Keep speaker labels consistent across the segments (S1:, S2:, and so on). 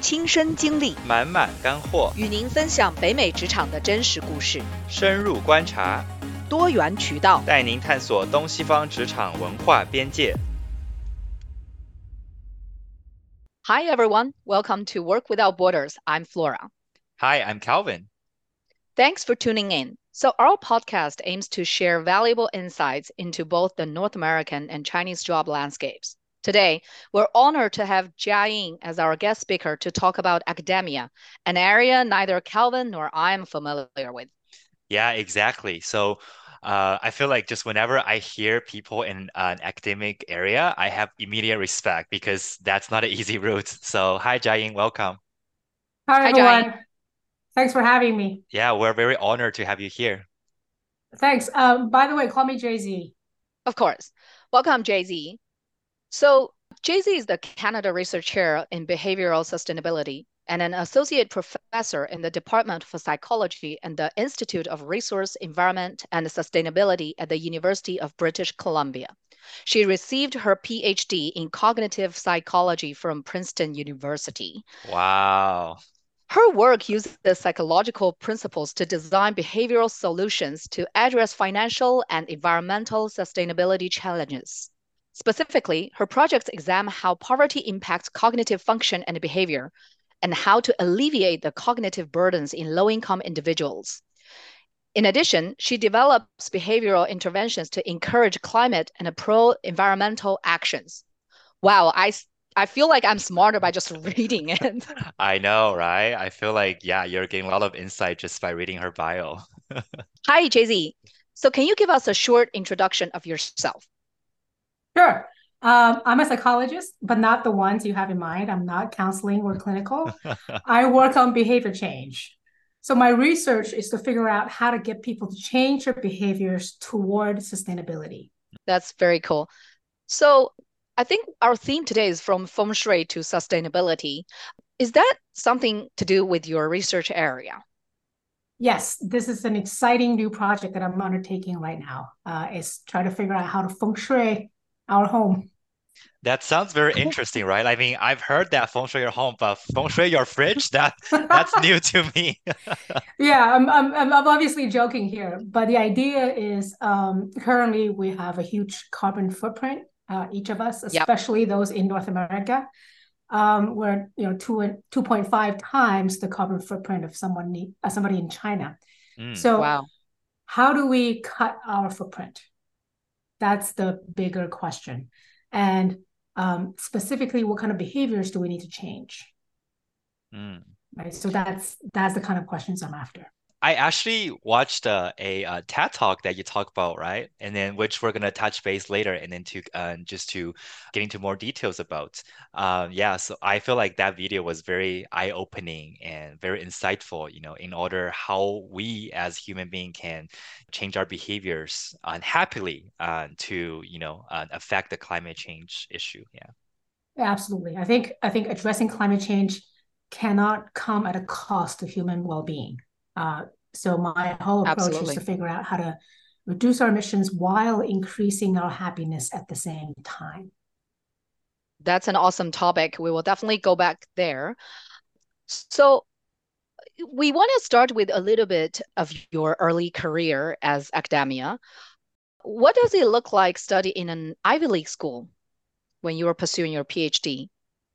S1: 亲身经历，
S2: 满满干货，
S1: 与您分享北美职场的真实故事，
S2: 深入观察，
S1: 多元渠道，
S2: 带您探索东西方职场文化边界。
S1: Hi everyone, welcome to Work Without Borders. I'm Flora.
S2: Hi, I'm Calvin.
S1: Thanks for tuning in. So our podcast aims to share valuable insights into both the North American and Chinese job landscapes. Today, we're honored to have Jia Ying as our guest speaker to talk about academia, an area neither Calvin nor I am familiar with.
S2: Yeah, exactly. So I feel like just whenever I hear people in an academic area, I have immediate respect because that's not an easy route. So hi, Jiaying, welcome.
S3: Hi,
S1: Hi, Jia Ying.
S3: everyone. Thanks for having me.
S2: Yeah, we're very honored to have you here.
S3: Thanks. By the way, call me Jay-Z.
S1: Of course. Welcome, Jay-Z. So Jay-Z is the Canada Research Chair in Behavioral Sustainability and an associate professor in the Department for Psychology and the Institute of Resource, Environment, and Sustainability at the University of British Columbia. She received her PhD in cognitive psychology from Princeton University.
S2: Wow.
S1: Her work uses psychological principles to design behavioral solutions to address financial and environmental sustainability challenges. Specifically, her projects examine how poverty impacts cognitive function and behavior, and how to alleviate the cognitive burdens in low-income individuals. In addition, she develops behavioral interventions to encourage climate and pro-environmental actions. Wow, I feel like I'm smarter by just reading it.
S2: I know, right? I feel like, yeah, you're getting a lot of insight just by reading her bio.
S1: Hi, Jay-Z. So can you give us a short introduction of yourself?
S3: Sure. I'm a psychologist, but not the ones you have in mind. I'm not counseling or clinical. I work on behavior change. So my research is to figure out how to get people to change their behaviors toward sustainability.
S1: That's very cool. So I think our theme today is from feng shui to sustainability. Is that something to do with your research area?
S3: Yes, this is an exciting new project that I'm undertaking right now. Is try to figure out how to feng shui our home.
S2: That sounds very interesting, right? I mean, I've heard that feng shui your home, but feng shui your fridge, that's new to me.
S3: Yeah, I'm obviously joking here, but the idea is currently we have a huge carbon footprint, each of us,
S1: Yep.
S3: especially those in North America, where 2.5 times the carbon footprint of somebody in China. So
S1: Wow.
S3: how do we cut our footprint? That's the bigger question. And specifically, what kind of behaviors do we need to change?
S2: Mm.
S3: Right. So that's the kind of questions I'm after.
S2: I actually watched a TED talk that you talk about, right? And then which we're gonna touch base later, and then to just to get into more details about. Yeah, so I feel like that video was very eye-opening and very insightful, in order how we as human being can change our behaviors unhappily to, affect the climate change issue. Yeah.
S3: Absolutely. I think addressing climate change cannot come at a cost to human well-being. So my whole approach is
S1: Absolutely.
S3: to figure out how to reduce our emissions while increasing our happiness at the same time.
S1: That's an awesome topic. We will definitely go back there. So we want to start with a little bit of your early career as academia. What does it look like studying in an Ivy League school when you were pursuing your PhD?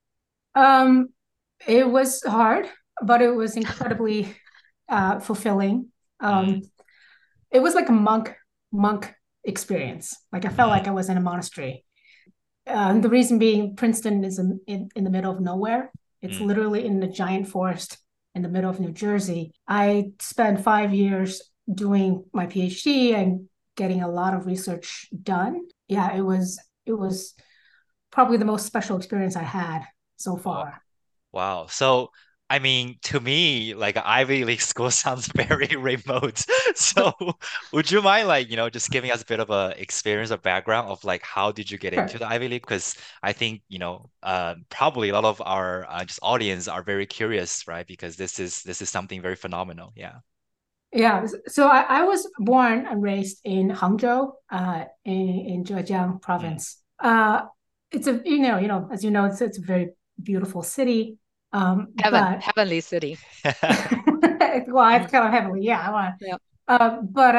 S3: It was hard, but it was incredibly fulfilling.
S2: Mm,
S3: It was like a monk experience. Like I felt like I was in a monastery. The reason being, Princeton is in the middle of nowhere. It's
S2: mm.
S3: literally in a giant forest in the middle of New Jersey. I spent 5 years doing my PhD and getting a lot of research done. Yeah, it was probably the most special experience I had so
S2: Wow.
S3: far.
S2: Wow. So, I mean, to me, like Ivy League school sounds very remote. So, would you mind, like, just giving us a bit of a experience or background of like how did you get into
S3: Sure.
S2: the Ivy League? Because I think, probably a lot of our just audience are very curious, right? Because this is something very phenomenal. Yeah.
S3: Yeah, so I was born and raised in Hangzhou, in Zhejiang
S2: Mm,
S3: province. It's a as you know, it's a very beautiful city. But
S1: Heavenly city.
S3: well, it's kind of heavily, yeah.
S1: Yeah.
S3: But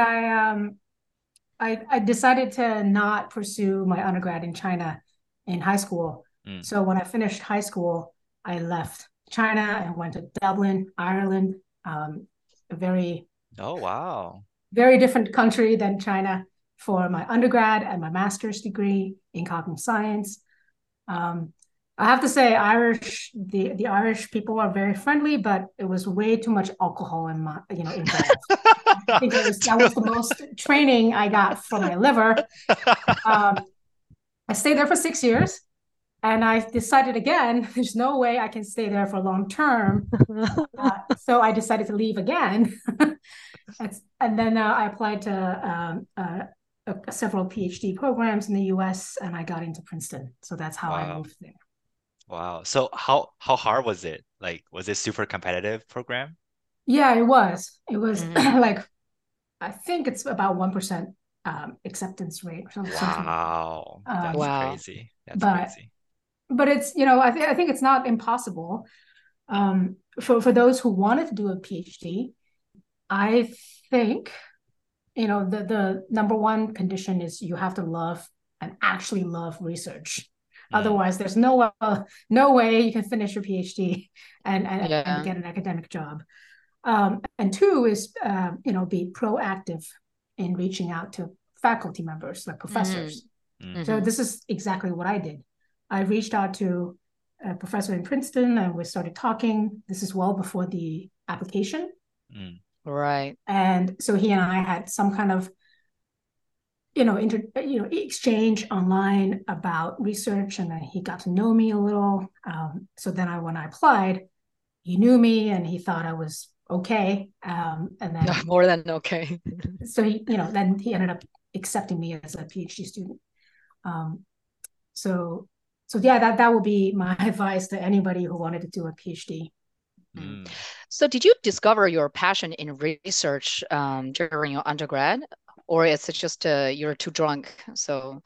S3: I decided to not pursue my undergrad in China in high school. So when I finished high school, I left China and went to Dublin, Ireland, a very
S2: Oh, wow.
S3: very different country than China for my undergrad and my master's degree in cognitive science. I have to say, the Irish people are very friendly, but it was way too much alcohol involved. I think that was the most training I got for my liver. I stayed there for 6 years, and I decided again, there's no way I can stay there for long term. So I decided to leave again. And then I applied to several PhD programs in the US, and I got into Princeton. So that's how I
S2: Wow.
S3: moved there.
S2: Wow. So how hard was it? Like, was it super competitive program?
S3: Yeah, it was. It was like, I think it's about 1% acceptance rate or something.
S2: Wow. That's
S1: Wow.
S2: crazy. That's
S3: But
S2: crazy.
S3: it's, I think it's not impossible. For those who wanted to do a PhD, I think, the number one condition is you have to love and actually love research. Otherwise, there's no way you can finish your PhD and get an academic job. And two is, be proactive in reaching out to faculty members, like professors. So this is exactly what I did. I reached out to a professor in Princeton, and we started talking. This is well before the application.
S1: Right.
S3: And so he and I had some kind of, exchange online about research, and he got to know me a little. So then when I applied, he knew me and he thought I was okay. And then
S1: more than okay.
S3: So then he ended up accepting me as a PhD student. So yeah, that would be my advice to anybody who wanted to do a PhD.
S1: So did you discover your passion in research during your undergrad, or it's just you're too drunk? So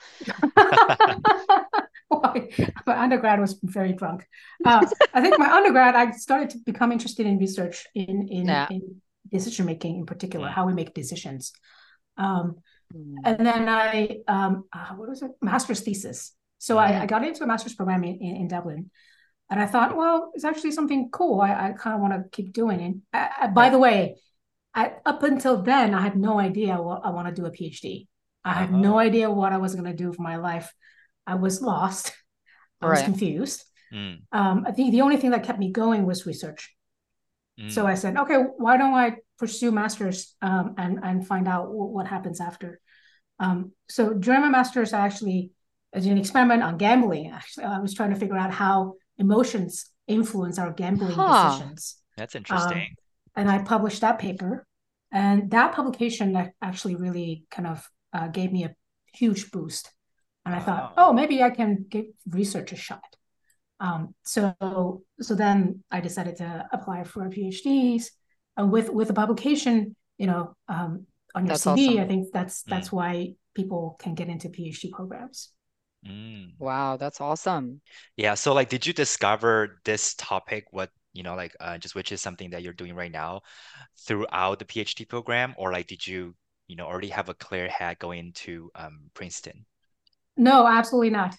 S3: my undergrad was very drunk. I think my undergrad, I started to become interested in research in decision making, in particular, how we make decisions. And then what was it? Master's thesis. So I got into a master's program in Dublin. And I thought, well, it's actually something cool. I kind of want to keep doing it. By the way, up until then, I had no idea what I want to do a PhD. I had no idea what I was going to do for my life. I was lost. I was confused. I think the only thing that kept me going was research. So I said, okay, why don't I pursue master's and find out what happens after? So during my master's, I actually did an experiment on gambling. Actually, I was trying to figure out how emotions influence our gambling decisions.
S2: That's interesting.
S3: And I published that paper. And that publication actually really kind of gave me a huge boost. And I thought, oh, maybe I can give research a shot. So then I decided to apply for a PhDs. With a publication, on your
S1: That's
S3: CV,
S1: awesome.
S3: I think that's why people can get into PhD programs.
S1: Wow, that's awesome.
S2: Yeah. So like, did you discover this topic, just which is something that you're doing right now throughout the PhD program, or like, did you, already have a clear head going into Princeton?
S3: No, absolutely not.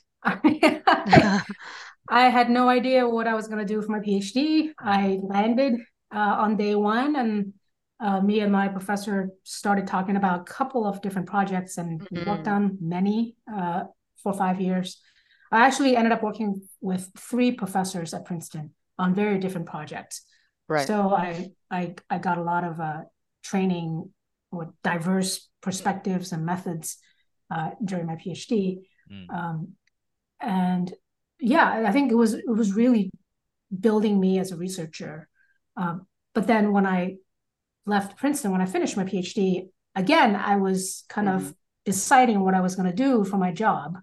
S3: I had no idea what I was going to do for my PhD. I landed on day one, and me and my professor started talking about a couple of different projects, and we worked on many for 5 years. I actually ended up working with 3 professors at Princeton on very different projects.
S1: Right.
S3: So I got a lot of training with diverse perspectives and methods during my PhD. And yeah, I think it was really building me as a researcher. But then when I left Princeton, when I finished my PhD, again, I was kind of deciding what I was going to do for my job.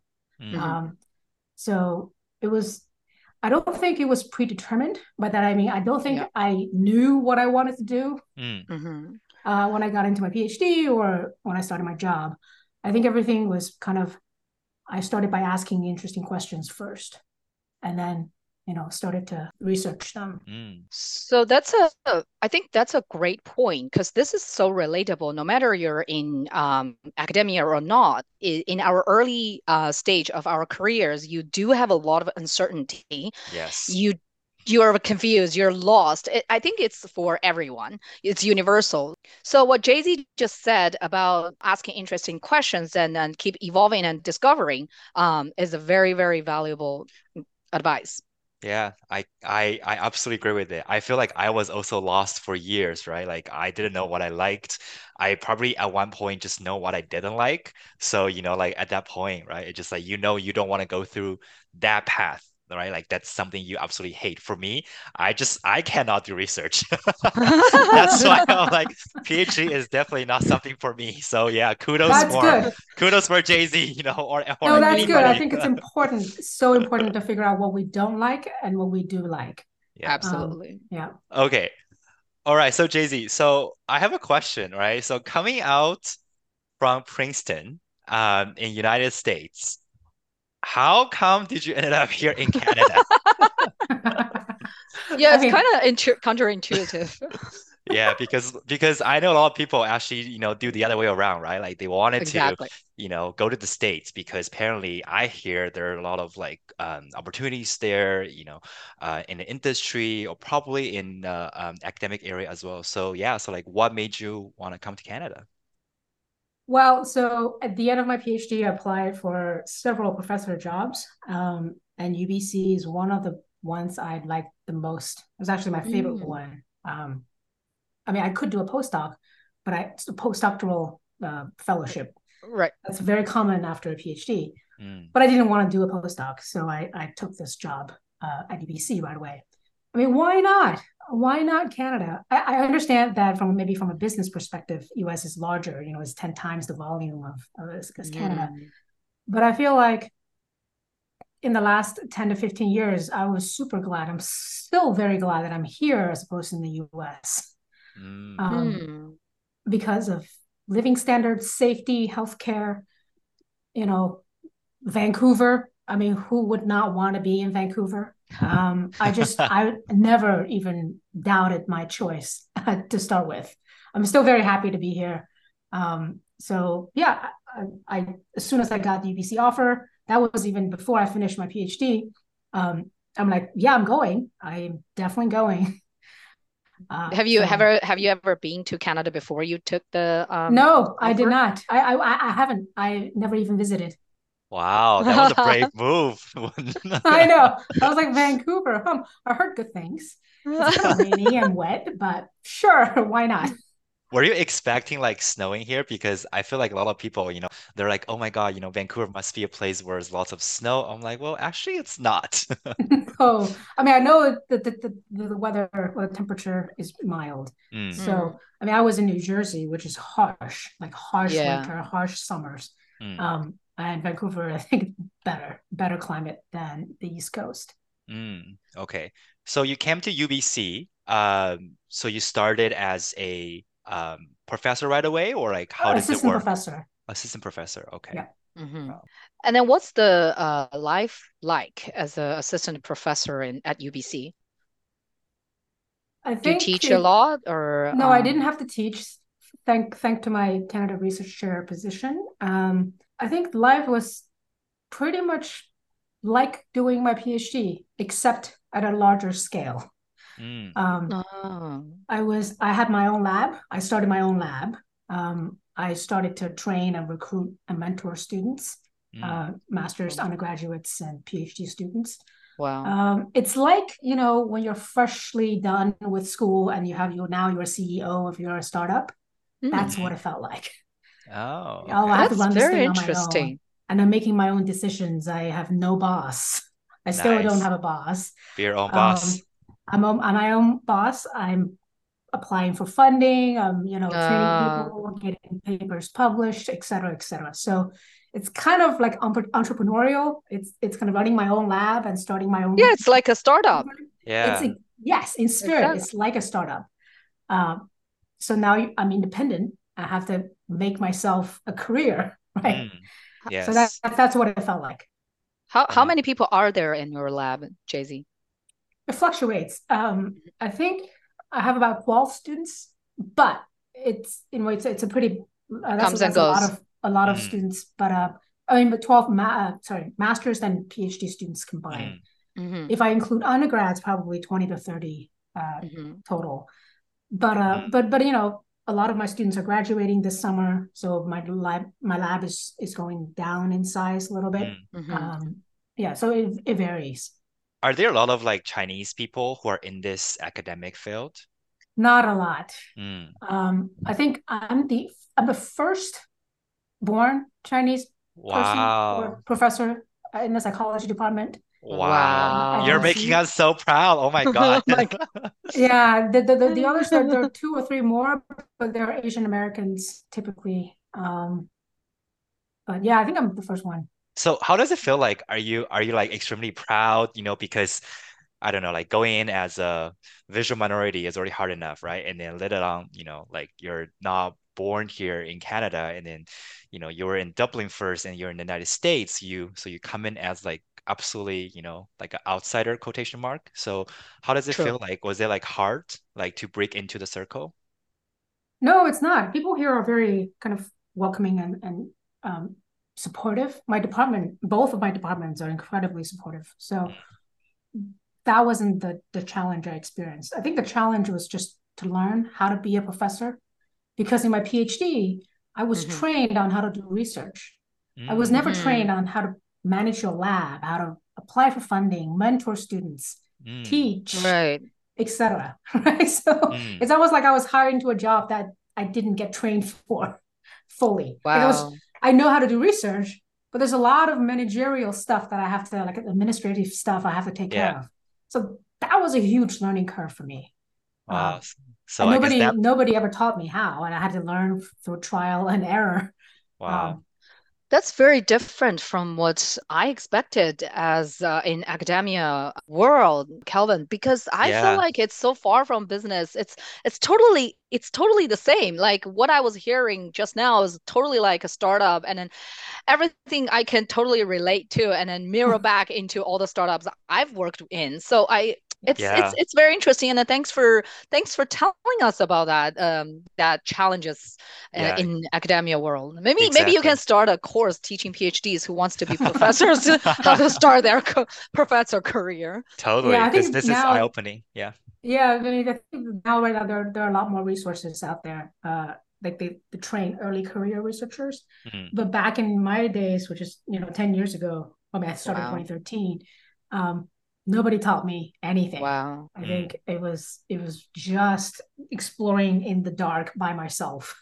S3: So it was, I don't think it was predetermined. By that, I mean, I don't think I knew what I wanted to do when I got into my PhD or when I started my job. I think everything was kind of, I started by asking interesting questions first. And then started to research them.
S1: So I think that's a great point, because this is so relatable. No matter you're in academia or not, in our early stage of our careers, you do have a lot of uncertainty.
S2: Yes.
S1: You're confused, you're lost. I think it's for everyone. It's universal. So what Jay-Z just said about asking interesting questions and keep evolving and discovering is a very, very valuable advice.
S2: Yeah, I absolutely agree with it. I feel like I was also lost for years, right? Like I didn't know what I liked. I probably at one point just know what I didn't like. So, like at that point, right? It's just like you don't want to go through that path, right? Like that's something you absolutely hate. For me, I cannot do research. That's why I'm like PhD is definitely not something for me. So yeah,
S3: That's good.
S2: kudos for Jay-Z, or
S3: No,
S2: like
S3: that's good. I
S2: anybody.
S3: think it's important, so important to figure out what we don't like and what we do like.
S2: Yeah.
S1: Absolutely.
S3: Yeah.
S2: Okay. All right. So Jay-Z, so I have a question, right? So coming out from Princeton, in United States, how come did you ended up here in Canada?
S1: Yeah,
S3: I
S1: it's
S3: mean,
S1: kind of counterintuitive.
S2: Yeah, because I know a lot of people actually, do the other way around, right? Like they wanted to,
S1: Exactly.
S2: go to the States because apparently I hear there are a lot of like opportunities there, in the industry or probably in academic area as well. So yeah, so like what made you want to come to Canada?
S3: well, so at the end of my PhD, I applied for several professor jobs, and UBC is one of the ones I liked the most. It was actually my favorite
S1: Mm,
S3: one. I mean, I could do a postdoc, but it's a postdoctoral fellowship.
S1: right.
S3: That's very common after a PhD.
S2: Mm,
S3: But I didn't want to do a postdoc, so I took this job at UBC right away. I mean, why not? Why not Canada? I understand that from a business perspective, US is larger, it's 10 times the volume of Canada.
S1: Mm.
S3: But I feel like in the last 10 to 15 years, I was super glad. I'm still very glad that I'm here as opposed to in the US.
S2: mm,
S1: Mm.
S3: Because of living standards, safety, healthcare, you know, Vancouver. I mean, who would not want to be in Vancouver? I never even doubted my choice to start with. I'm still very happy to be here. So yeah, as soon as I got the UBC offer, that was even before I finished my PhD. I'm like, yeah, I'm going. I'm definitely going.
S1: Have you ever been to Canada before you took the
S3: No, I did
S1: offer?
S3: not. I haven't. I never even visited.
S2: Wow, that was a brave move.
S3: I know. I was like, Vancouver. I heard good things. It's kind of rainy and wet, but sure, why not?
S2: Were you expecting like snowing here? Because I feel like a lot of people, they're like, oh my God, Vancouver must be a place where there's lots of snow. I'm like, well, actually, it's not.
S3: Oh, I mean, I know that the weather or the temperature is mild.
S2: Mm,
S3: So, I mean, I was in New Jersey, which is harsh, like harsh
S1: Yeah.
S3: winter, harsh summers.
S2: mm,
S3: And Vancouver, I think better climate than the East Coast.
S2: okay. So you came to UBC. So you started as a professor right away, or like how does it
S3: Assistant
S2: work?
S3: professor.
S2: Assistant professor. Okay.
S3: Yeah.
S1: Hmm.
S2: Wow.
S1: And then what's the life like as an assistant professor at UBC?
S3: I
S1: Do you
S3: think
S1: teach a lot or
S3: no, I didn't have to teach. Thank to my Canada Research Chair position. I think life was pretty much like doing my PhD, except at a larger scale.
S2: Mm,
S1: Oh.
S3: I had my own lab. I started my own lab. I started to train and recruit and mentor students,
S2: mm,
S3: master's, undergraduates, and PhD students.
S1: Wow.
S3: It's like, when you're freshly done with school and now you're a CEO of your startup. That's what
S2: mhm.
S3: it felt like.
S2: Oh,
S3: Oh, I have
S2: okay.
S3: to
S1: That's
S3: run this
S1: very
S3: thing on my own.
S1: interesting.
S3: And I'm making my own decisions. I have no boss. I still don't
S2: Nice.
S3: have a boss.
S2: Be your own boss.
S3: Um, I'm my own boss. I'm applying for funding. I'm, training
S1: Uh,
S3: people, getting papers published, et cetera, et cetera. So it's kind of like entrepreneurial. It's kind of running my own lab and starting my
S1: yeah,
S3: own.
S1: it's like a startup.
S3: It's
S2: Yeah.
S3: yes, in spirit,
S1: Exactly.
S3: it's like a startup. Um, so now I'm independent. I have to make myself a career, right?
S2: Mm,
S3: So
S2: yes.
S3: that's what it felt like.
S1: How
S2: Wow.
S1: many people are there in your lab, Jay-Z?
S3: It fluctuates. I think I have about 12 students, but it's a pretty
S1: Comes and
S3: that's
S1: goes.
S3: a lot of
S2: Mm,
S3: students, but I mean, but 12 masters and PhD students combined.
S2: mm,
S1: Hmm.
S3: If I include undergrads, probably 20 to 30
S1: Hmm.
S3: total. But
S2: mm,
S3: a lot of my students are graduating this summer, so my lab is going down in size a little bit.
S2: mm.
S1: Hmm.
S3: Um, yeah, so it varies.
S2: Are there a lot of like Chinese people who are in this academic field?
S3: Not a lot.
S2: Mm.
S3: I think I'm the first born Chinese person or
S2: Wow.
S3: professor in the psychology department
S2: Wow.
S3: at
S2: You're
S1: Wow.
S2: making
S3: UC.
S2: us so proud. Oh my God.
S1: Oh my
S3: Yeah, the others, there
S1: God.
S3: are two or three more, but they're Asian Americans typically. But yeah, I think I'm the first one.
S2: So how does it feel like? Are you like extremely proud, because I don't know, like going in as a visual minority is already hard enough, right? And then let alone, like you're not born here in Canada and then, you were in Dublin first and you're in the United States, so you come in as like absolutely, like an outsider quotation mark. So how does it
S1: True.
S2: feel like? Was it like hard, like to break into the circle?
S3: No, it's not. People here are very kind of welcoming and um, supportive. Both of my departments are incredibly supportive. So that wasn't the challenge I experienced. I think the challenge was just to learn how to be a professor because in my PhD, I was
S1: Hmm.
S3: trained on how to do research. I was
S2: Mm,
S3: never
S1: Hmm.
S3: trained on how to manage your lab, how to apply for funding, mentor students,
S2: mm,
S3: teach,
S1: Right.
S3: etc. Right? So
S2: mm.
S3: it's almost like I was hired into a job that I didn't get trained for fully.
S1: Wow.
S3: I know how to do research, but there's a lot of managerial stuff that I have to, like administrative stuff I have to take
S2: Yeah.
S3: care of. So that was a huge learning curve for me.
S2: Wow.
S3: Um,
S2: So
S3: and
S2: I guess that,
S3: nobody ever taught me how, and I had to learn through trial and error.
S2: wow.
S3: Um,
S1: That's very different from what I expected as in academia world, Calvin, because I feel
S2: Yeah.
S1: like it's so far from business. It's totally the same. Like what I was hearing just now is totally like a startup, and then everything I can totally relate to, and then mirror back into all the startups I've worked in. So it's it's
S2: Yeah.
S1: it's very interesting, and then thanks for telling us about that challenges
S2: Yeah.
S1: in academia world. Maybe you can
S2: Exactly.
S1: start a course teaching PhDs who wants to be professors how to start their professor career.
S3: yeah,
S2: Totally,
S3: I
S2: because
S3: think
S2: this is
S3: now,
S2: eye-opening. Yeah.
S3: yeah, I mean, I think now right now there are a lot more resources out there. Like they train early career researchers.
S2: Mm,
S3: But back in my days, which is 10 years ago, I mean, I started in
S1: Wow.
S3: 2013. Um, Nobody taught me anything.
S1: Wow.
S3: I
S2: mm,
S3: think it was just exploring in the dark by myself.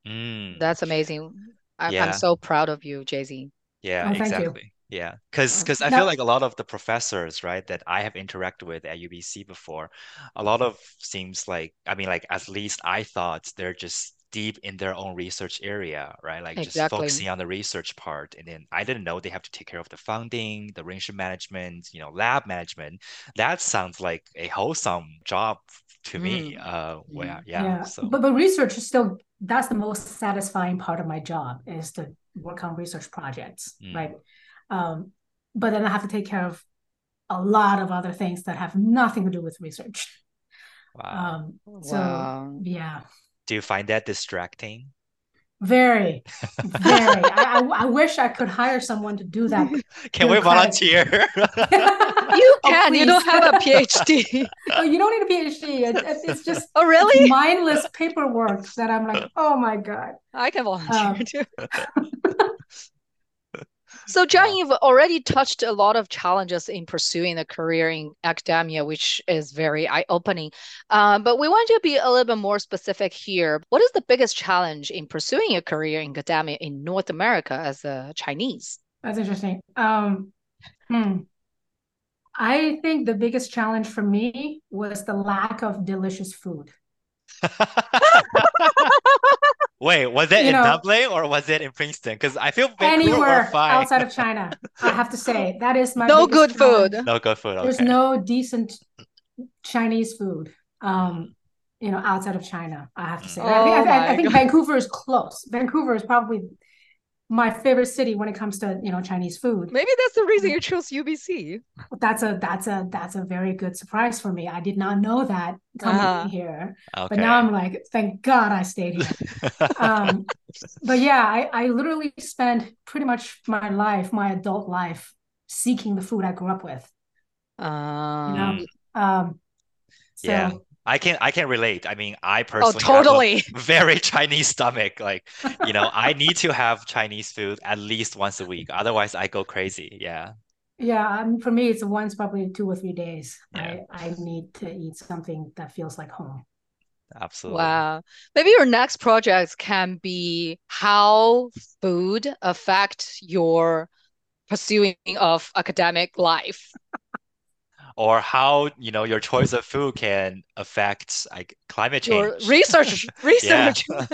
S2: mm.
S1: That's amazing. I'm
S2: Yeah.
S1: so proud of you, Jay-Z.
S2: Yeah,
S3: Oh, thank you.
S2: exactly. Yeah. Because I feel
S3: Now,
S2: like a lot of the professors, right, that I have interacted with at UBC before, a lot of seems like, I mean, like at least I thought they're just deep in their own research area, right? Like just
S1: Exactly.
S2: focusing on the research part. And then I didn't know they have to take care of the funding, the arrangement management, lab management. That sounds like a wholesome job to me.
S1: Mm.
S2: Well,
S1: Mm.
S2: yeah.
S3: yeah,
S2: So,
S3: but research is still that's the most satisfying part of my job is to work on research projects,
S2: mm,
S3: right? Um, but then I have to take care of a lot of other things that have nothing to do with research.
S2: wow.
S3: So
S1: Wow.
S3: yeah,
S2: Do you find that distracting?
S3: very, very. I wish I could hire someone to do that
S2: Can we
S3: bureaucratic.
S2: volunteer?
S1: You
S3: Oh,
S1: can. You don't
S3: please.
S1: have a PhD.
S3: No, you don't need a PhD. It's just
S1: Oh,
S3: it's
S1: really?
S3: mindless paperwork that I'm like, oh my God.
S1: I can volunteer
S3: Um,
S1: too. So, John,
S2: Wow.
S1: you've already touched a lot of challenges in pursuing a career in academia, which is very eye-opening. But we want to be a little bit more specific here. What is the biggest challenge in pursuing a career in academia in North America as a Chinese?
S3: that's interesting. Hmm. I think the biggest challenge for me was the lack of delicious food.
S2: Wait, was it
S3: You
S2: in
S3: know,
S2: Dublin or was it in Princeton? Because I feel Vancouver were
S3: anywhere
S2: fine.
S3: outside of China, I have to say that is my
S1: No
S3: biggest
S1: good food.
S3: challenge.
S2: No good food.
S3: There's
S2: Okay.
S3: no decent Chinese food,
S2: Mm,
S3: outside of China. I have to say.
S2: mm,
S3: I think
S1: Oh
S3: I
S1: my
S3: think
S1: God.
S3: Vancouver is close. Vancouver is probably my favorite city when it comes to, Chinese food.
S1: Maybe that's the reason you chose UBC.
S3: That's a very good surprise for me. I did not know that coming in here, but now I'm like, thank God I stayed here. But yeah, I literally spent pretty much my adult life, seeking the food I grew up with. So
S2: yeah, I can relate. I mean, I personally
S1: totally
S2: have a very Chinese stomach. Like, I need to have Chinese food at least once a week. Otherwise, I go crazy. Yeah.
S3: Yeah, for me, it's once probably 2 or 3 days.
S2: Yeah.
S3: I need to eat something that feels like home.
S2: Absolutely.
S1: Wow. Maybe your next project can be how food affect your pursuing of academic life.
S2: Or how, your choice of food can affect like climate
S1: Your
S2: change.
S1: research.
S2: Yeah.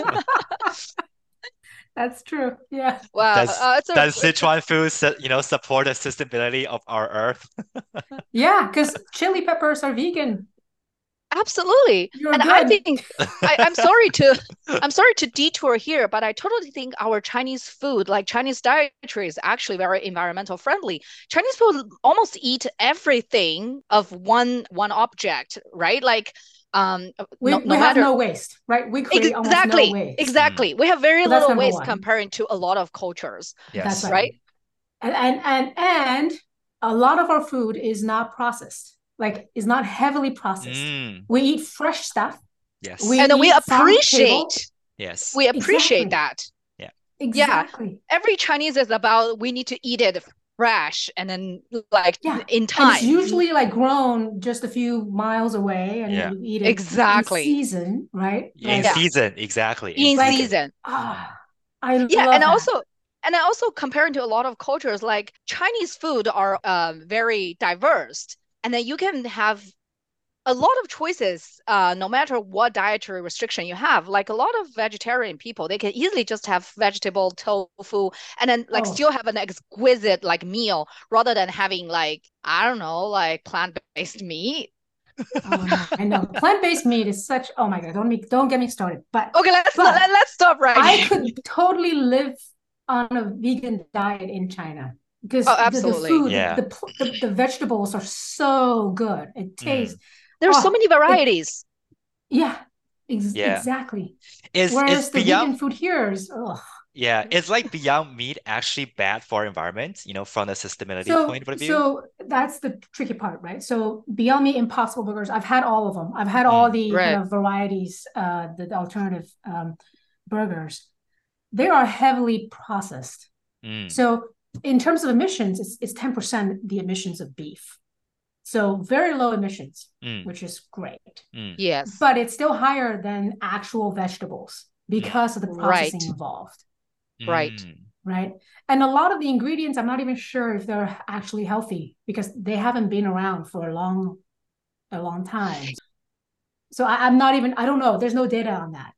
S3: That's true. Yeah.
S1: Wow.
S2: Does Sichuan food, support the sustainability of our earth?
S3: Yeah, because chili peppers are vegan.
S1: Absolutely.
S3: You're
S1: And
S3: good.
S1: I think I'm sorry to detour here, but I totally think our Chinese food, like Chinese dietary, is actually very environmental friendly. Chinese food almost eat everything of one object, right? Like
S3: we
S1: no
S3: have
S1: matter
S3: no waste, right? We create almost no waste.
S1: Exactly. We have very
S3: So that's
S1: little
S3: number
S1: waste
S3: one.
S1: comparing to a lot of cultures.
S2: Yes.
S3: That's
S1: right.
S3: And a lot of our food is not processed, like is not heavily processed. We eat fresh stuff.
S2: Yes.
S1: And we appreciate.
S2: Yes.
S1: We appreciate that.
S2: Yeah.
S3: Exactly.
S1: Yeah. Every Chinese is about we need to eat it fresh and then like in time.
S3: And it's usually like grown just a few miles away and then you eat it
S1: exactly
S3: in season, right?
S2: In season, exactly.
S1: In season.
S3: I love that.
S1: And also comparing to a lot of cultures, like Chinese food are very diverse. And then you can have a lot of choices, no matter what dietary restriction you have. Like a lot of vegetarian people, they can easily just have vegetable tofu and then like still have an exquisite like meal rather than having like, I don't know, like plant-based meat.
S3: I know plant-based meat is such. Oh my God! Don't get me started. But
S1: okay, let's stop right
S3: I could totally live on a vegan diet in China because the food, the vegetables are so good. It tastes.
S1: There's so many varieties.
S3: Exactly.
S2: Whereas
S3: the vegan food here is.
S2: Yeah, it's like Beyond Meat actually bad for environment, from the sustainability point of view?
S3: So that's the tricky part, right? So Beyond Meat Impossible Burgers, I've had all of them. I've had all the kind of varieties, the alternative burgers. They are heavily processed. So in terms of emissions, it's 10% the emissions of beef. So very low emissions, which is great.
S1: Yes.
S3: But it's still higher than actual vegetables because of the processing involved.
S1: Right.
S3: And a lot of the ingredients, I'm not even sure if they're actually healthy because they haven't been around for a long time. So I don't know. There's no data on that.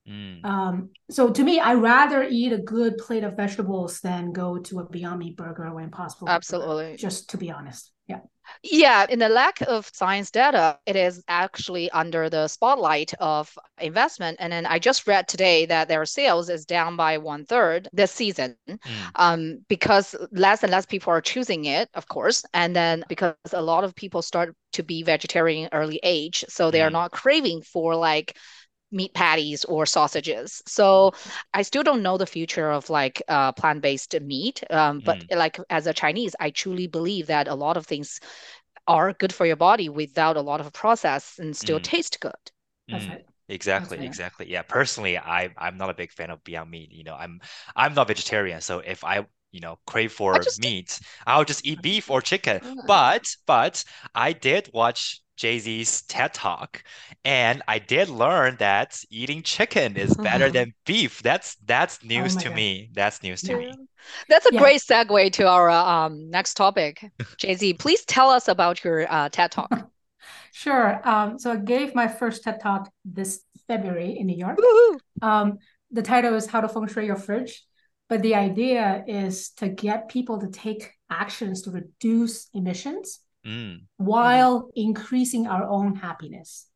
S3: So to me, I'd rather eat a good plate of vegetables than go to a Beyond Meat burger or Impossible
S1: Absolutely.
S3: Burger, just to be honest.
S1: Yeah, in the lack of science data, it is actually under the spotlight of investment. And then I just read today that their sales is down by 1/3 this season, because less and less people are choosing it, of course. And then because a lot of people start to be vegetarian early age, so they are not craving for like meat patties or sausages. So I still don't know the future of like plant-based meat. But like as a Chinese, I truly believe that a lot of things are good for your body without a lot of process and still taste good.
S3: That's right.
S2: Exactly. Yeah. Personally, I'm not a big fan of Beyond Meat. I'm not vegetarian, so if I crave for meat, I'll just eat beef or chicken. But I did watch Jay-Z's TED Talk, and I did learn that eating chicken is better than beef. That's news to me. That's news to me.
S1: That's a great segue to our next topic. Jay-Z, please tell us about your TED Talk.
S3: Sure. So I gave my first TED Talk this February in New York. The title is How to Feng Shui Your Fridge. But the idea is to get people to take actions to reduce emissions while increasing our own happiness.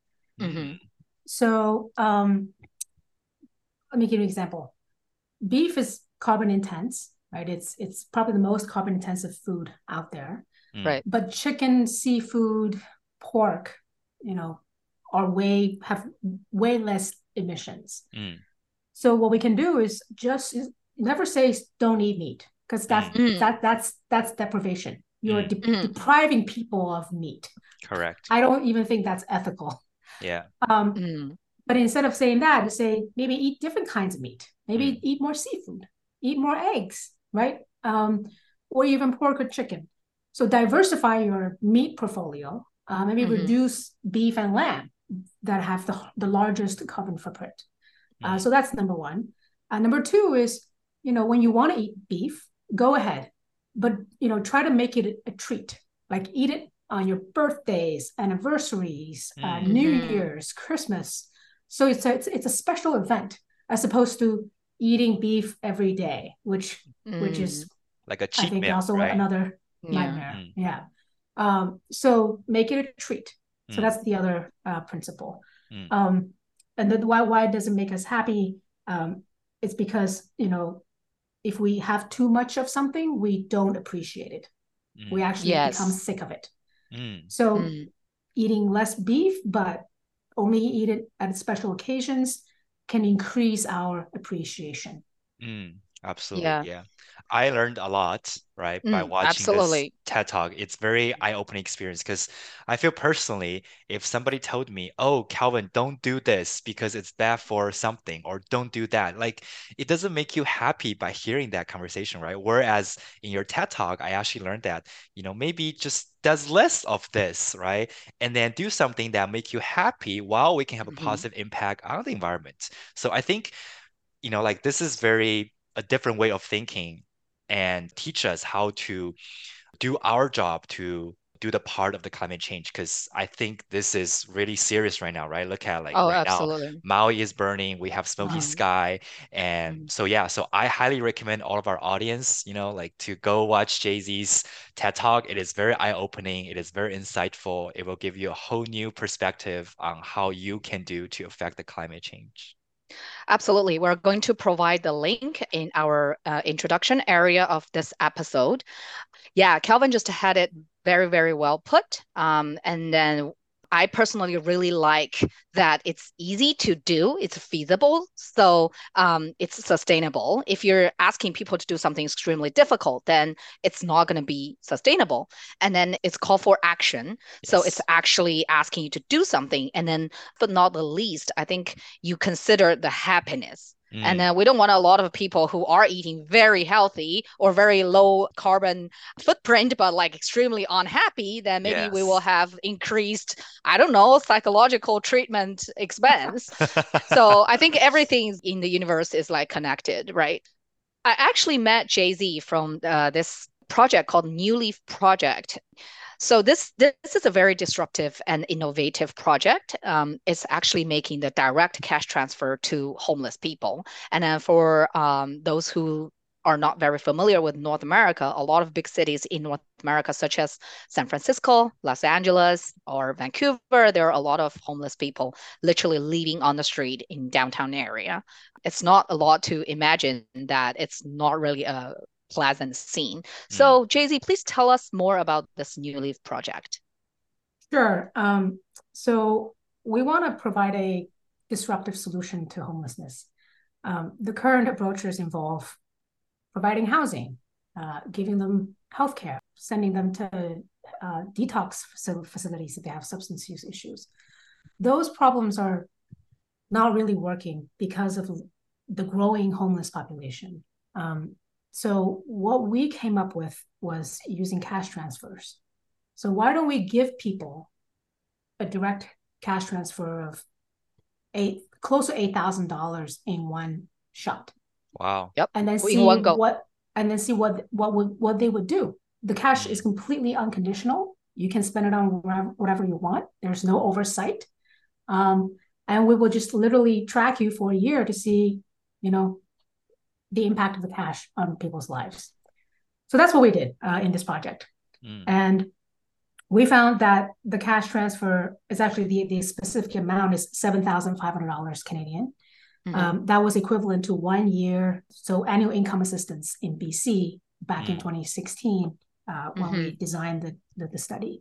S3: So let me give you an example. Beef is carbon intense, right? It's probably the most carbon intensive food out there.
S1: Right.
S3: But chicken, seafood, pork, have way less emissions. So what we can do is just never say don't eat meat, because that's deprivation. You're depriving people of meat.
S2: Correct.
S3: I don't even think that's ethical.
S2: Yeah.
S3: But instead of saying that, to say maybe eat different kinds of meat, maybe eat more seafood, eat more eggs, right? Or even pork or chicken. So diversify your meat portfolio. Maybe reduce beef and lamb that have the largest carbon footprint. So that's number one. Number two is, when you want to eat beef, go ahead, but try to make it a treat. Like eat it on your birthdays, anniversaries, New Year's, Christmas. So it's a special event, as opposed to eating beef every day, which is
S2: like a cheat
S3: I think
S2: meal,
S3: also
S2: right?
S3: another nightmare. Yeah. So make it a treat. So that's the other principle. And then why does it make us happy? It's because, if we have too much of something, we don't appreciate it. We actually become sick of it. So eating less beef, but only eat it at special occasions, can increase our appreciation.
S2: Absolutely. Yeah. I learned a lot, right, by watching this TED Talk. It's very eye-opening experience, because I feel personally, if somebody told me, oh, Calvin, don't do this because it's bad for something, or don't do that, like it doesn't make you happy by hearing that conversation, right? Whereas in your TED Talk, I actually learned that, maybe just does less of this, right? And then do something that make you happy while we can have a positive impact on the environment. So I think, like this is very a different way of thinking, and teach us how to do our job to do the part of the climate change, because I think this is really serious right now, right? Look at right now, Maui is burning, we have smoky sky, and so I highly recommend all of our audience, like to go watch Jay-Z's TED Talk. It is very eye-opening, it is very insightful, it will give you a whole new perspective on how you can do to affect the climate change.
S1: Absolutely. We're going to provide the link in our introduction area of this episode. Yeah, Calvin just had it very, very well put. And then I personally really like that it's easy to do, it's feasible, so it's sustainable. If you're asking people to do something extremely difficult, then it's not going to be sustainable. And then it's call for action. So it's actually asking you to do something. And then, but not the least, I think you consider the happiness. And then we don't want a lot of people who are eating very healthy or very low carbon footprint, but like extremely unhappy. Then maybe we will have increased, I don't know, psychological treatment expense. So I think everything in the universe is like connected, right? I actually met Jay-Z from this project called New Leaf Project. So this is a very disruptive and innovative project. It's actually making the direct cash transfer to homeless people. And then for those who are not very familiar with North America, a lot of big cities in North America, such as San Francisco, Los Angeles, or Vancouver, there are a lot of homeless people literally living on the street in downtown area. It's not a lot to imagine that it's not really a pleasant scene. So Jay-Z, please tell us more about this New Leaf project.
S3: Sure. So we want to provide a disruptive solution to homelessness. The current approaches involve providing housing, giving them healthcare, sending them to detox facilities if they have substance use issues. Those problems are not really working because of the growing homeless population. So what we came up with was using cash transfers. So why don't we give people a direct cash transfer of close to $8,000 in one shot?
S2: Wow.
S1: Yep.
S3: And then see what they would do. The cash is completely unconditional. You can spend it on whatever you want. There's no oversight. And we will just literally track you for a year to see, the impact of the cash on people's lives. So that's what we did in this project. And we found that the cash transfer is actually the specific amount is $7,500 Canadian. That was equivalent to 1 year, so annual income assistance in BC back in 2016 when we designed the study.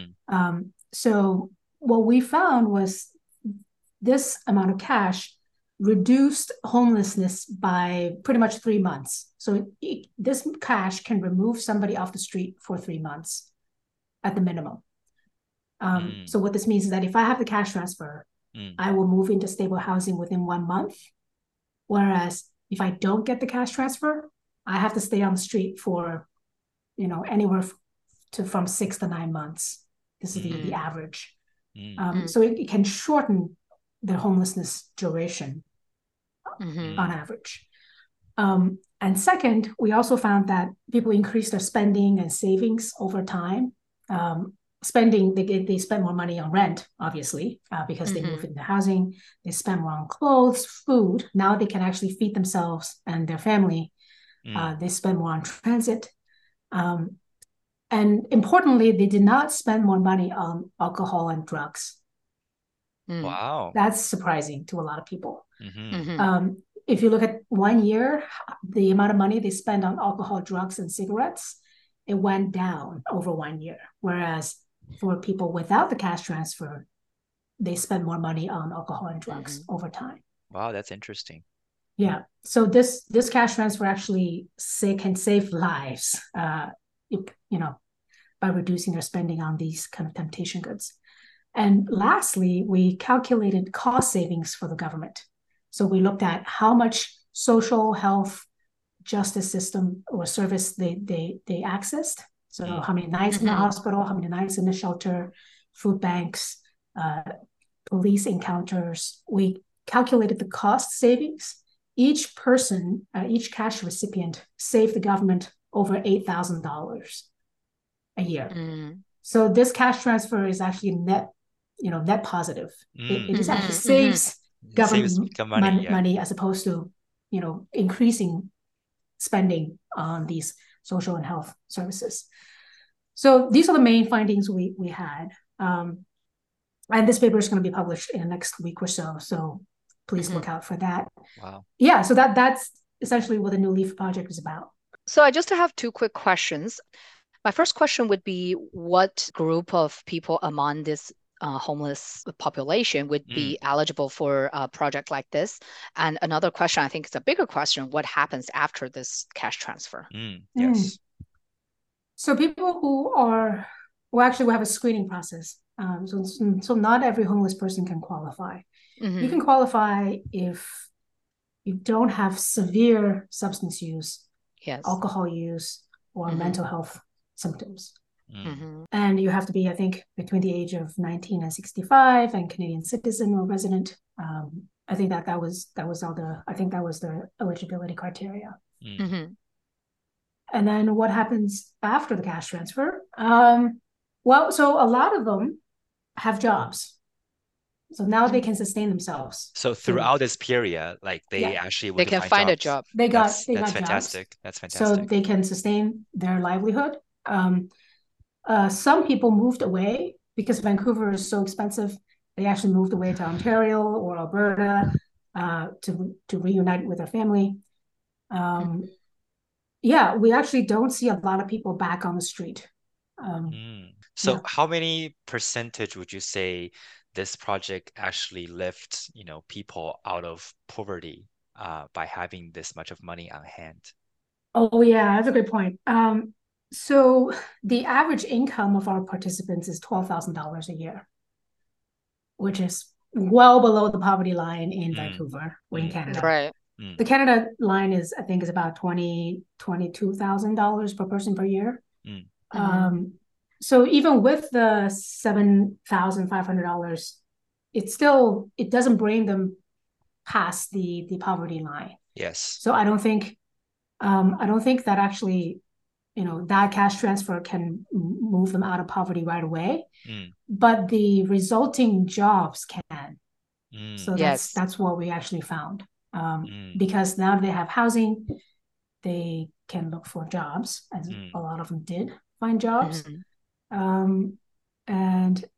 S3: So what we found was this amount of cash reduced homelessness by pretty much 3 months. So this cash can remove somebody off the street for 3 months at the minimum. So what this means is that if I have the cash transfer, I will move into stable housing within 1 month. Whereas if I don't get the cash transfer, I have to stay on the street for, anywhere from 6 to 9 months. This is the average. So it can shorten the homelessness duration on average. And second, we also found that people increase their spending and savings over time. Spending, they spend more money on rent, obviously, because they move into housing. They spend more on clothes, food. Now they can actually feed themselves and their family. They spend more on transit. And importantly, they did not spend more money on alcohol and drugs.
S2: Wow.
S3: That's surprising to a lot of people. If you look at 1 year, the amount of money they spend on alcohol, drugs, and cigarettes, it went down over 1 year. Whereas for people without the cash transfer, they spend more money on alcohol and drugs over time.
S2: Wow, that's interesting.
S3: Yeah. So this cash transfer actually can save lives, by reducing their spending on these kind of temptation goods. And lastly, we calculated cost savings for the government. So we looked at how much social health justice system or service they accessed. So how many nights in the hospital, how many nights in the shelter, food banks, police encounters. We calculated the cost savings. Each person, each cash recipient saved the government over $8,000 a year. So this cash transfer is actually net positive. It just actually saves government money as opposed to, increasing spending on these social and health services. So these are the main findings we had. And this paper is going to be published in the next week or so. So please look out for that.
S2: Wow.
S3: Yeah, so that's essentially what the New Leaf Project is about.
S1: So I just have 2 quick questions. My first question would be, what group of people among this homeless population would be eligible for a project like this? And another question, I think it's a bigger question, what happens after this cash transfer?
S2: Yes.
S3: So people we have a screening process. So not every homeless person can qualify. You can qualify if you don't have severe substance use, alcohol use, or mental health symptoms. And you have to be, I think, between the age of 19 and 65 and Canadian citizen or resident. I think that was the eligibility criteria. And then what happens after the cash transfer? So a lot of them have jobs. So now they can sustain themselves.
S2: So throughout this period, like they actually
S1: they can find a job.
S3: They got
S2: fantastic.
S3: Jobs.
S2: That's fantastic.
S3: So they can sustain their livelihood. Some people moved away because Vancouver is so expensive. They actually moved away to Ontario or Alberta to reunite with their family. We actually don't see a lot of people back on the street.
S2: So how many percentage would you say this project actually lifts, people out of poverty by having this much of money on hand?
S3: Oh yeah, that's a good point. So the average income of our participants is $12,000 a year, which is well below the poverty line in Vancouver or in Canada.
S1: Right.
S3: The Canada line is about $22,000 per person per year. So even with the $7,500, it doesn't bring them past the poverty line.
S2: Yes.
S3: So I don't think that actually, that cash transfer can move them out of poverty right away. But the resulting jobs can. So that's what we actually found. Because now they have housing, they can look for jobs, as a lot of them did find jobs. And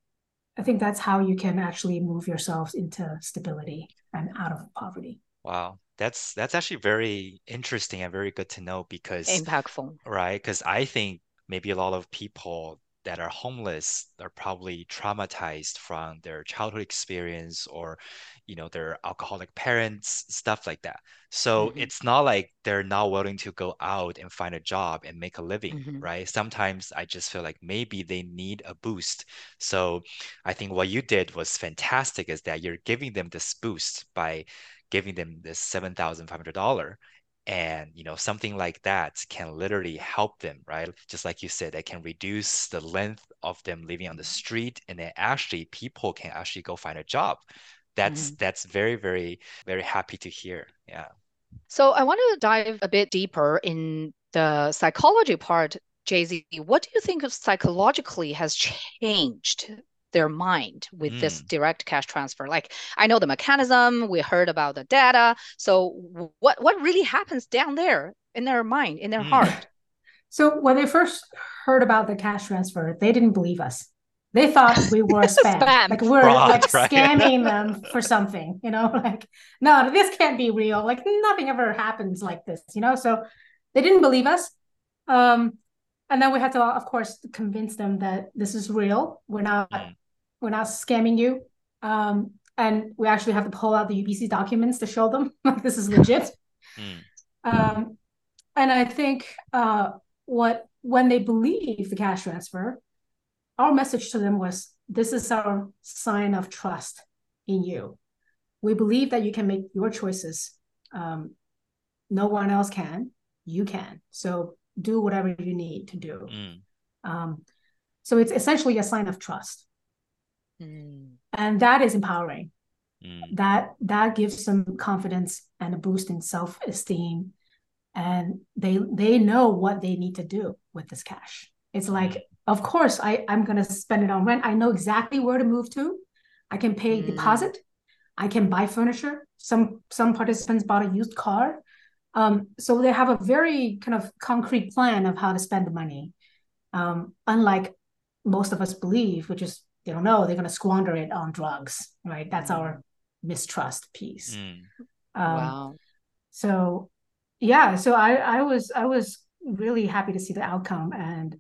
S3: I think that's how you can actually move yourselves into stability and out of poverty.
S2: Wow. That's actually very interesting and very good to know because,
S1: Impactful.
S2: right? Because I think maybe a lot of people that are homeless are probably traumatized from their childhood experience or, their alcoholic parents, stuff like that. So
S1: Hmm.
S2: it's not like they're not willing to go out and find a job and make a living,
S1: Hmm.
S2: right? Sometimes I just feel like maybe they need a boost. So I think what you did was fantastic is that you're giving them this boost by giving them this $7,500. And something like that can literally help them, right? Just like you said, it can reduce the length of them living on the street, and then actually people can actually go find a job. That's
S1: Hmm.
S2: that's very, very, very happy to hear. Yeah.
S1: So I want to dive a bit deeper in the psychology part, Jay-Z. What do you think of psychologically has changed their mind with this
S2: Mm,
S1: direct cash transfer? Like, I know the mechanism, we heard about the data. So what really happens down there in their mind, in their
S2: mm.
S1: heart?
S3: So when they first heard about the cash transfer, they didn't believe us. They thought we were a spam,
S1: Spam.
S3: like we're
S2: Fraud,
S3: like
S2: right?
S3: scamming them for something, like, no, this can't be real. Like nothing ever happens like this. So they didn't believe us. Um, and then we had to, of course, convince them that this is real.
S2: Mm,
S3: We're not scamming you. And we actually have to pull out the UBC documents to show them like this is legit.
S2: mm,
S3: Um, and I think when they believe the cash transfer, our message to them was, this is our sign of trust in you. We believe that you can make your choices. No one else can. You can. So do whatever you need to do.
S2: mm,
S3: So it's essentially a sign of trust.
S1: Mm.
S3: And that is empowering.
S2: mm,
S3: That gives them confidence and a boost in self-esteem, and they know what they need to do with this cash. It's
S2: mm,
S3: like, of course, I'm going to spend it on rent. I know exactly where to move to. I can pay
S1: Mm.
S3: deposit. I can buy furniture. Some participants bought a used car. So they have a very kind of concrete plan of how to spend the money. Unlike most of us believe, which is they don't know, they're going to squander it on drugs, right? That's our
S1: Mm.
S3: mistrust piece.
S2: mm,
S3: Um,
S1: Wow.
S3: so yeah, so I was really happy to see the outcome,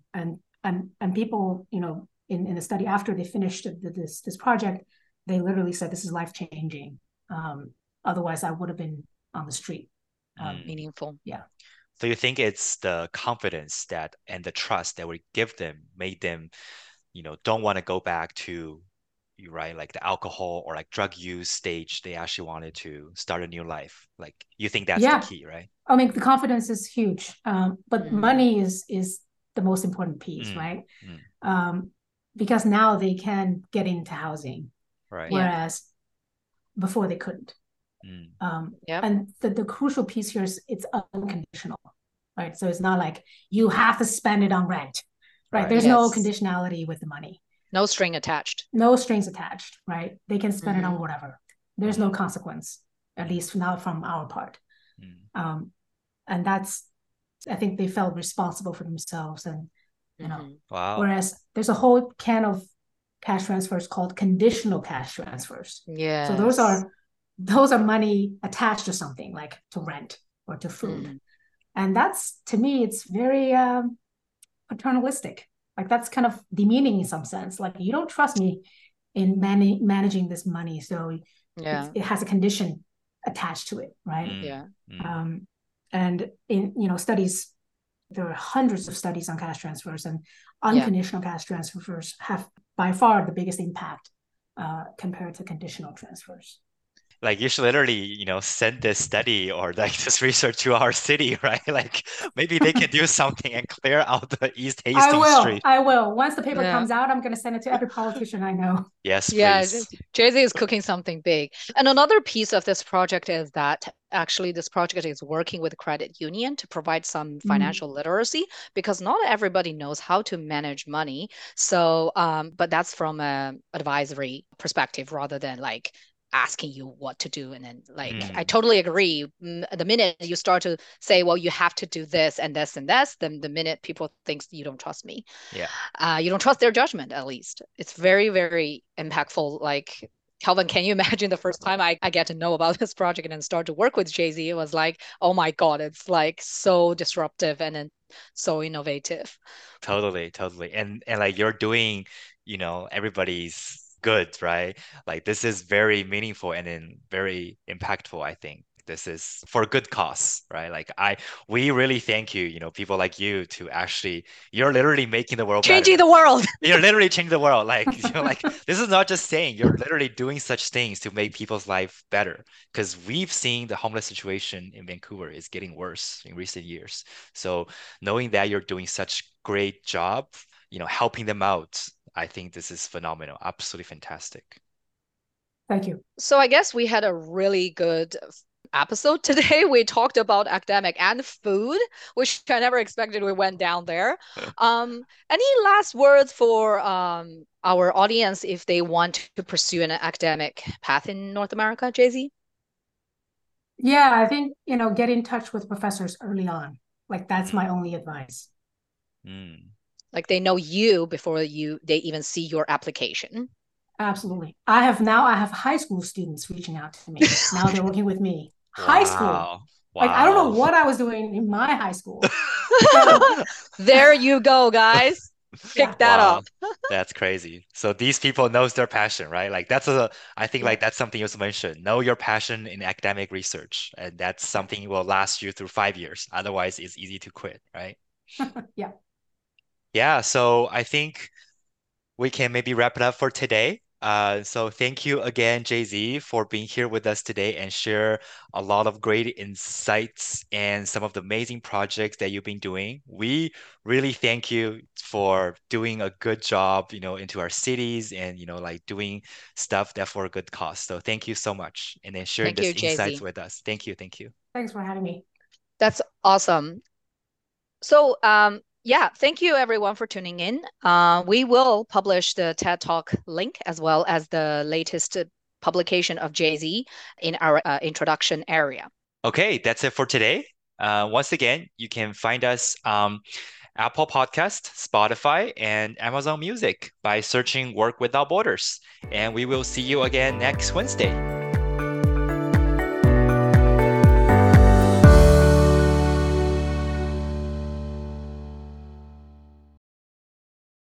S3: and people, in the study after they finished this project, they literally said this is life changing. Otherwise, I would have been on the street.
S2: mm.
S1: Meaningful.
S3: Yeah,
S2: So you think it's the confidence that and the trust that we give them made them, don't want to go back to, right, like the alcohol or like drug use stage. They actually wanted to start a new life. Like you think that's the
S3: yeah.
S2: key, right?
S3: I mean, the confidence is huge, but
S1: Mm.
S3: money is the most important piece,
S2: Mm,
S3: right?
S2: mm,
S3: Um, because now they can get into housing,
S2: right.
S1: Yeah.
S3: whereas before they couldn't.
S2: Mm,
S1: Yep.
S3: And the crucial piece here is it's unconditional, right? So it's not like you have to spend it on rent, right?
S2: right.
S3: There's no
S1: Yes.
S3: conditionality with the money,
S1: No string attached.
S3: no strings attached, right? They can spend it on
S1: Hmm.
S3: whatever. There's no
S2: Mm,
S3: consequence, at
S2: mm,
S3: least now from our part.
S2: mm.
S3: Um, and that's, I think they felt responsible for themselves, and
S1: Hmm.
S2: Wow.
S3: whereas there's a whole can of cash transfers called conditional cash transfers. So those
S1: Yes.
S3: are those are money attached to something like to rent or to food.
S1: Mm.
S3: And that's, to me, it's very paternalistic. Like that's kind of demeaning in some sense. Like you don't trust me in managing this money, so
S1: Yeah.
S3: it has a condition attached to it, right?
S2: Mm,
S1: Yeah.
S2: mm.
S3: Um, and in studies, there are hundreds of studies on cash transfers, and
S1: Yeah.
S3: unconditional cash transfers have by far the biggest impact compared to conditional transfers.
S2: Like you should literally, send this study or like this research to our city, right? Like maybe they can do something and clear out the East
S3: I
S2: Hastings
S3: will.
S2: Street.
S3: I will. Once the paper
S1: Yeah.
S3: comes out, I'm going to send it to every politician I know.
S2: Yes,
S1: Yeah.
S2: please.
S1: Jay-Z is cooking something big. And another piece of this project is that actually this project is working with credit union to provide some
S3: Mm.
S1: financial literacy because not everybody knows how to manage money. So, but that's from a advisory perspective rather than like asking you what to do. And then like, I
S2: Mm.
S1: totally agree. The minute you start to say, well, you have to do this and this and this, then the minute people think you don't trust me,
S2: Yeah.
S1: you don't trust their judgment, at least. It's very, very impactful. Like, Calvin, can you imagine the first time I get to know about this project and then start to work with Jay-Z? It was like, oh my God, it's like so disruptive and then so innovative.
S2: Totally, totally. And like you're doing, everybody's good, right? Like this is very meaningful and then very impactful, I think. This is for a good cause, right? We really thank you, people like you to actually, you're literally making the world
S1: Changing
S2: better.
S1: the world.
S2: You're literally changing the world. Like, like this is not just saying, you're literally doing such things to make people's life better. Because we've seen the homeless situation in Vancouver is getting worse in recent years. So knowing that you're doing such great job, helping them out, I think this is phenomenal. Absolutely fantastic.
S3: Thank you.
S1: So I guess we had a really good episode today. We talked about academic and food, which I never expected we went down there. Any last words for our audience if they want to pursue an academic path in North America, Jay-Z?
S3: Yeah, I think, get in touch with professors early on. Like that's my only advice.
S2: Mm.
S1: Like they know you before they even see your application.
S3: Absolutely. I have high school students reaching out to me. Now they're working with me. High school.
S2: Wow.
S3: Like I don't know
S2: Wow.
S3: what I was doing in my high school. So,
S1: There you go, guys. Pick
S3: yeah.
S1: that
S2: Wow.
S1: up.
S2: That's crazy. So these people knows their passion, right? Like I think
S3: Yeah.
S2: like that's something you also mentioned. Know your passion in academic research, and that's
S3: Yeah.
S2: something will last you through 5 years. Otherwise, it's easy to quit, right?
S3: Yeah.
S2: Yeah, so I think we can maybe wrap it up for today. So thank you again, Jay-Z, for being here with us today and share a lot of great insights and some of the amazing projects that you've been doing. We really thank you for doing a good job, into our cities and, like doing stuff that for a good cause. So thank you so much. And then sharing
S1: Thank
S2: this
S1: you,
S2: insights
S1: Jay-Z.
S2: with us. Thank you. Thank you.
S3: Thanks for having me.
S1: That's awesome. So, yeah, thank you everyone for tuning in. We will publish the TED Talk link as well as the latest publication of Jay-Z in our introduction area.
S2: Okay, that's it for today. Once again, you can find us Apple Podcast, Spotify, and Amazon Music by searching Work Without Borders. And we will see you again next Wednesday.